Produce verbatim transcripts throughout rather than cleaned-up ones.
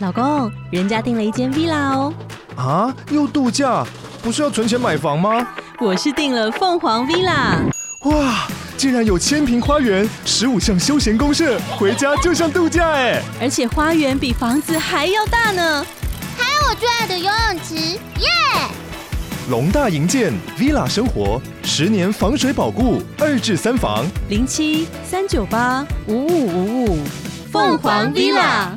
老公，人家订了一间 villa 哦。 啊，又度假？不是要存钱买房吗？ 我是订了凤凰 villa。 哇，竟然有千坪花园，十五项休闲公设，回家就像度假哎！ 而且花园比房子还要大呢。 还有我最爱的游泳池，耶！ 龙大营建 villa 生活，十年防水保固，二至三房， 零七三九八五五五五，凤凰 villa。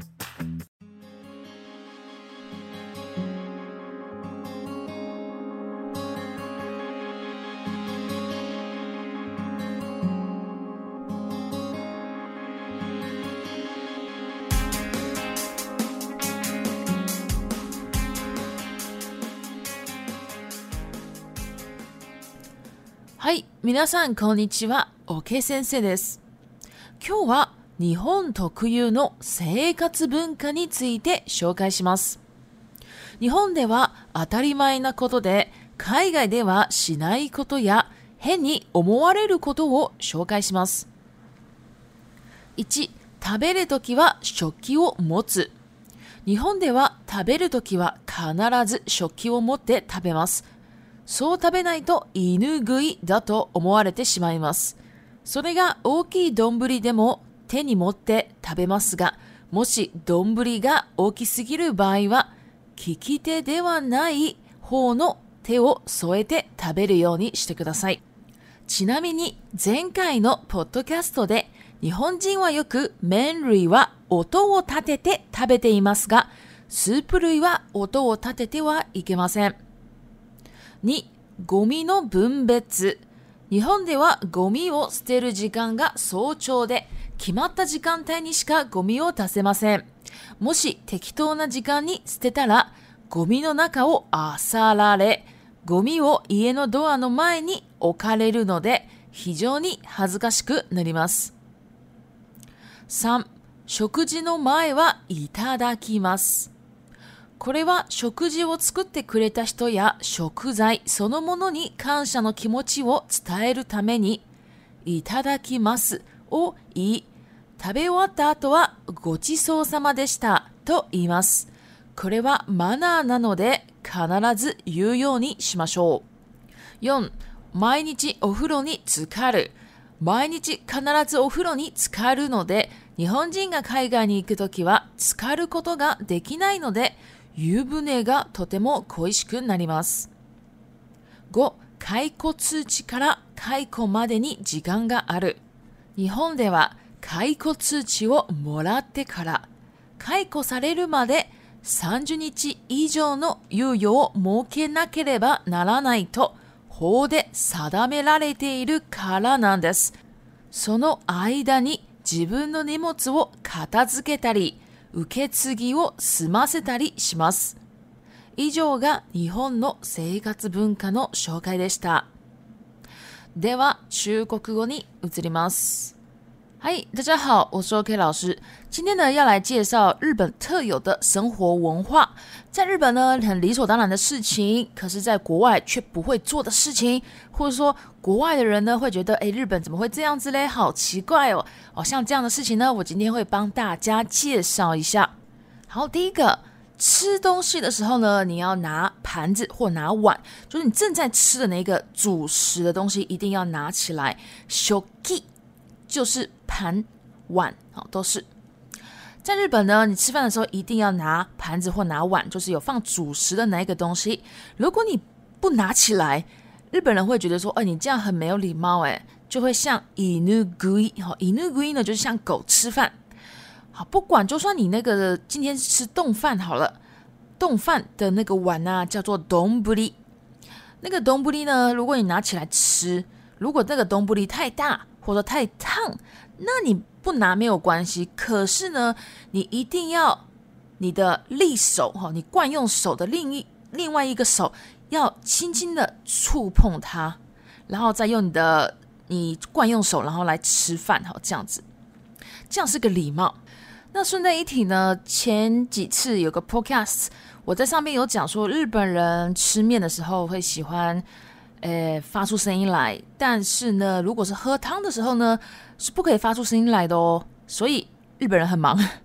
はい、皆さんこんにちは、OK先生です。今日は日本特有の生活文化について紹介します。日本では当たり前なことで、海外ではしないことや変に思われることを紹介します。いち、食べるときは食器を持つ。日本では食べるときは必ず食器を持って食べます。そう食べないと犬食いだと思われてしまいます。それが大きい丼でも手に持って食べますが、もし丼が大きすぎる場合は、利き手ではない方の手を添えて食べるようにしてください。ちなみに前回のポッドキャストで、日本人はよく麺類は音を立てて食べていますが、スープ類は音を立ててはいけません。に、ゴミの分別。日本ではゴミを捨てる時間が早朝で、決まった時間帯にしかゴミを出せません。もし適当な時間に捨てたら、ゴミの中を漁られ、ゴミを家のドアの前に置かれるので、非常に恥ずかしくなります。さん、食事の前はいただきます。これは食事を作ってくれた人や食材そのものに感謝の気持ちを伝えるために、いただきますを言い、食べ終わった後はごちそうさまでしたと言います。これはマナーなので必ず言うようにしましょう。よん、毎日お風呂に浸かる。毎日必ずお風呂に浸かるので、日本人が海外に行くときは浸かることができないので、湯船がとても恋しくなります。ご、解雇通知から解雇までに時間がある。日本では解雇通知をもらってから解雇されるまでさんじゅうにち以上の猶予を設けなければならないと法で定められているからなんです。その間に自分の荷物を片付けたり、受け継ぎを済ませたりします。以上が日本の生活文化の紹介でした。では、中国語に移ります。嗨，大家好，我是 OK 老师。今天呢，要来介绍日本特有的生活文化。在日本呢，很理所当然的事情，可是在国外却不会做的事情，或者说国外的人呢会觉得，诶，日本怎么会这样子嘞？好奇怪哦！哦，像这样的事情呢，我今天会帮大家介绍一下。好，第一个，吃东西的时候呢，你要拿盘子或拿碗，就是你正在吃的那个主食的东西，一定要拿起来。shoki就是盘碗，好，都是。在日本呢，你吃饭的时候一定要拿盘子或拿碗，就是有放主食的那一个东西。如果你不拿起来，日本人会觉得说，哎，你这样很没有礼貌，哎，就会像犬食い，好，犬食い呢就是像狗吃饭。好，不管就算你那个今天吃冻饭好了，冻饭的那个碗啊叫做丼，那个丼呢，如果你拿起来吃，如果那个丼太大或者太烫，那你不拿没有关系，可是呢，你一定要你的利手，你惯用手的另一另外一个手要轻轻的触碰它，然后再用你的你惯用手，然后来吃饭，这样子，这样是个礼貌。那顺带一提呢，前几次有个 podcast， 我在上面有讲说，日本人吃面的时候会喜欢呃发出声音来，但是呢，如果是喝汤的时候呢，是不可以发出声音来的哦。所以日本人很忙。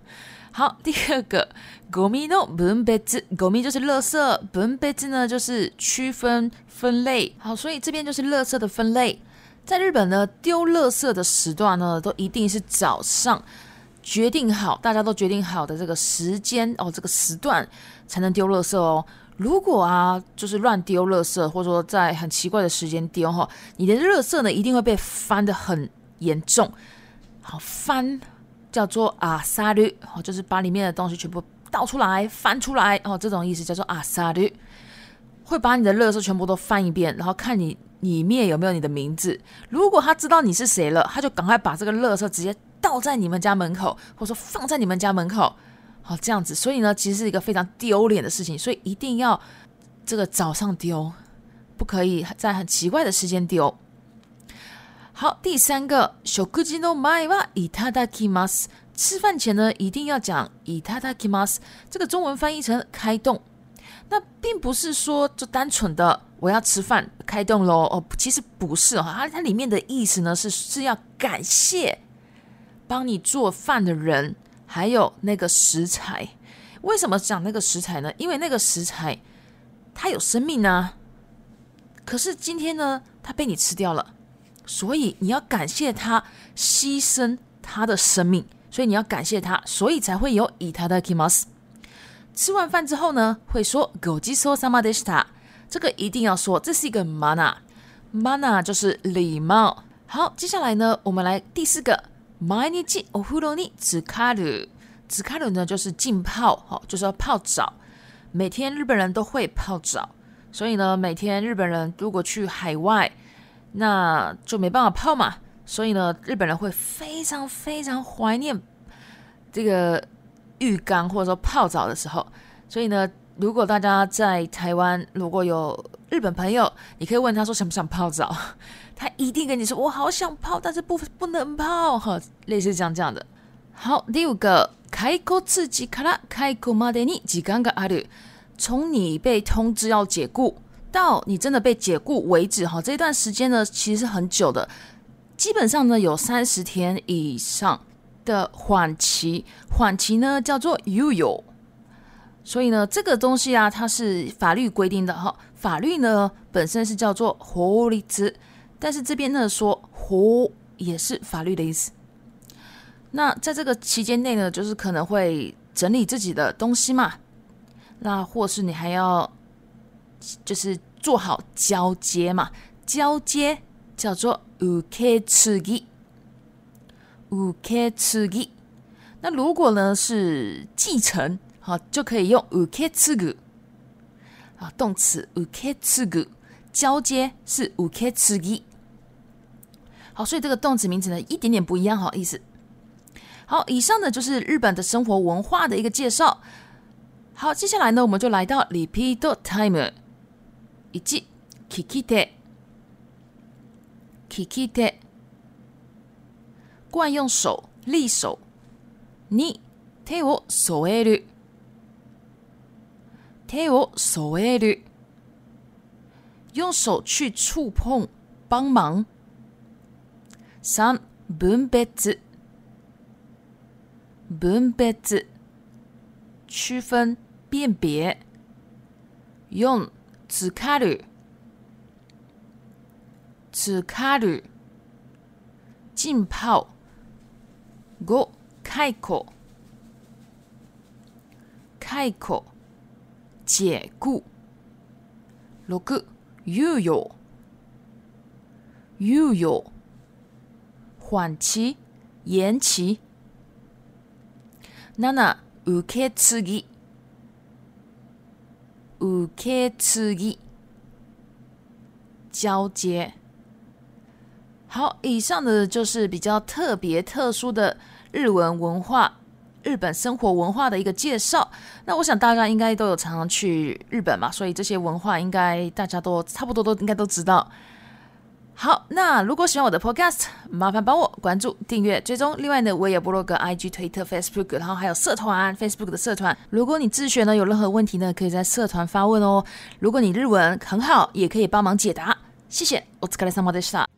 好，第二个ゴミの分別，ゴミ就是垃圾，分別呢就是区分分类。好，所以这边就是垃圾的分类。在日本呢，丢垃圾的时段呢，都一定是早上决定好，大家都决定好的这个时间哦，这个时段才能丢垃圾哦。如果啊，就是乱丢垃圾，或者说在很奇怪的时间丢哈，你的垃圾呢一定会被翻得很严重。好，翻叫做阿萨律，就是把里面的东西全部倒出来、翻出来哦，这种意思叫做阿萨律，会把你的垃圾全部都翻一遍，然后看你里面有没有你的名字。如果他知道你是谁了，他就赶快把这个垃圾直接倒在你们家门口，或者说放在你们家门口，好，这样子。所以呢，其实是一个非常丢脸的事情，所以一定要这个早上丢，不可以在很奇怪的时间丢。好，第三个，食事の前はいただきます。吃饭前呢，一定要讲いただきます。这个中文翻译成开动，那并不是说就单纯的我要吃饭开动咯哦，其实不是哦，它它里面的意思呢是是要感谢帮你做饭的人，还有那个食材。为什么讲那个食材呢？因为那个食材它有生命啊，可是今天呢，它被你吃掉了。所以你要感谢他牺牲他的生命，所以你要感谢他，所以才会有いただきます。吃完饭之后呢，会说ごちそうさまでした。这个一定要说，这是一个 mana， mana 就是礼貌。好，接下来呢，我们来第四个，毎日お風呂に浸かる。浸かる呢就是浸泡，就是要泡澡。每天日本人都会泡澡，所以呢，每天日本人如果去海外，那就没办法泡嘛，所以呢，日本人会非常非常怀念这个浴缸或者说泡澡的时候。所以呢，如果大家在台湾如果有日本朋友，你可以问他说想不想泡澡，他一定跟你说我好想泡，但是不不能泡，类似这样这样的。好，第五个，開庫通知から解雇までに時間がある。从你被通知要解雇到你真的被解雇为止，这段时间呢其实是很久的，基本上呢有三十天以上的缓期，缓期呢叫做猶予。所以呢这个东西啊，它是法律规定的哈，法律呢本身是叫做法律，但是这边呢说法也是法律的意思。那在这个期间内呢，就是可能会整理自己的东西嘛，那或是你还要就是做好交接嘛，交接叫做受け継ぎ，受け継ぎ。那如果呢是继承，好，就可以用受け継ぐ，啊，动词受け継ぐ，交接是受け継ぎ。好，所以这个動詞名詞呢一点点不一样，好意思。好，以上呢就是日本的生活文化的一个介绍。好，接下来呢我们就来到 repeat time。一、聞き手，聞き手，惯用手立手。二、手を添える，手を添える，用手去触碰帮忙。三、分別，分別，区分辨别。四、浸かる，浸かる，浸泡。五、解雇，解雇，解雇。六、猶予，猶予，缓期，延期。七、受け継ぎ，受け継ぎ，交接。好，以上的就是比较特别特殊的日文文化，日本生活文化的一个介绍。那我想大家应该都有常常去日本嘛，所以这些文化应该大家都差不多都应该都知道。好，那如果喜欢我的 podcast， 麻烦帮我关注、订阅、追踪。另外呢，我也有部落格、I G、推特、Facebook， 然后还有社团 Facebook 的社团。如果你自学呢有任何问题呢，可以在社团发问哦。如果你日文很好，也可以帮忙解答。谢谢，お疲れ様でした。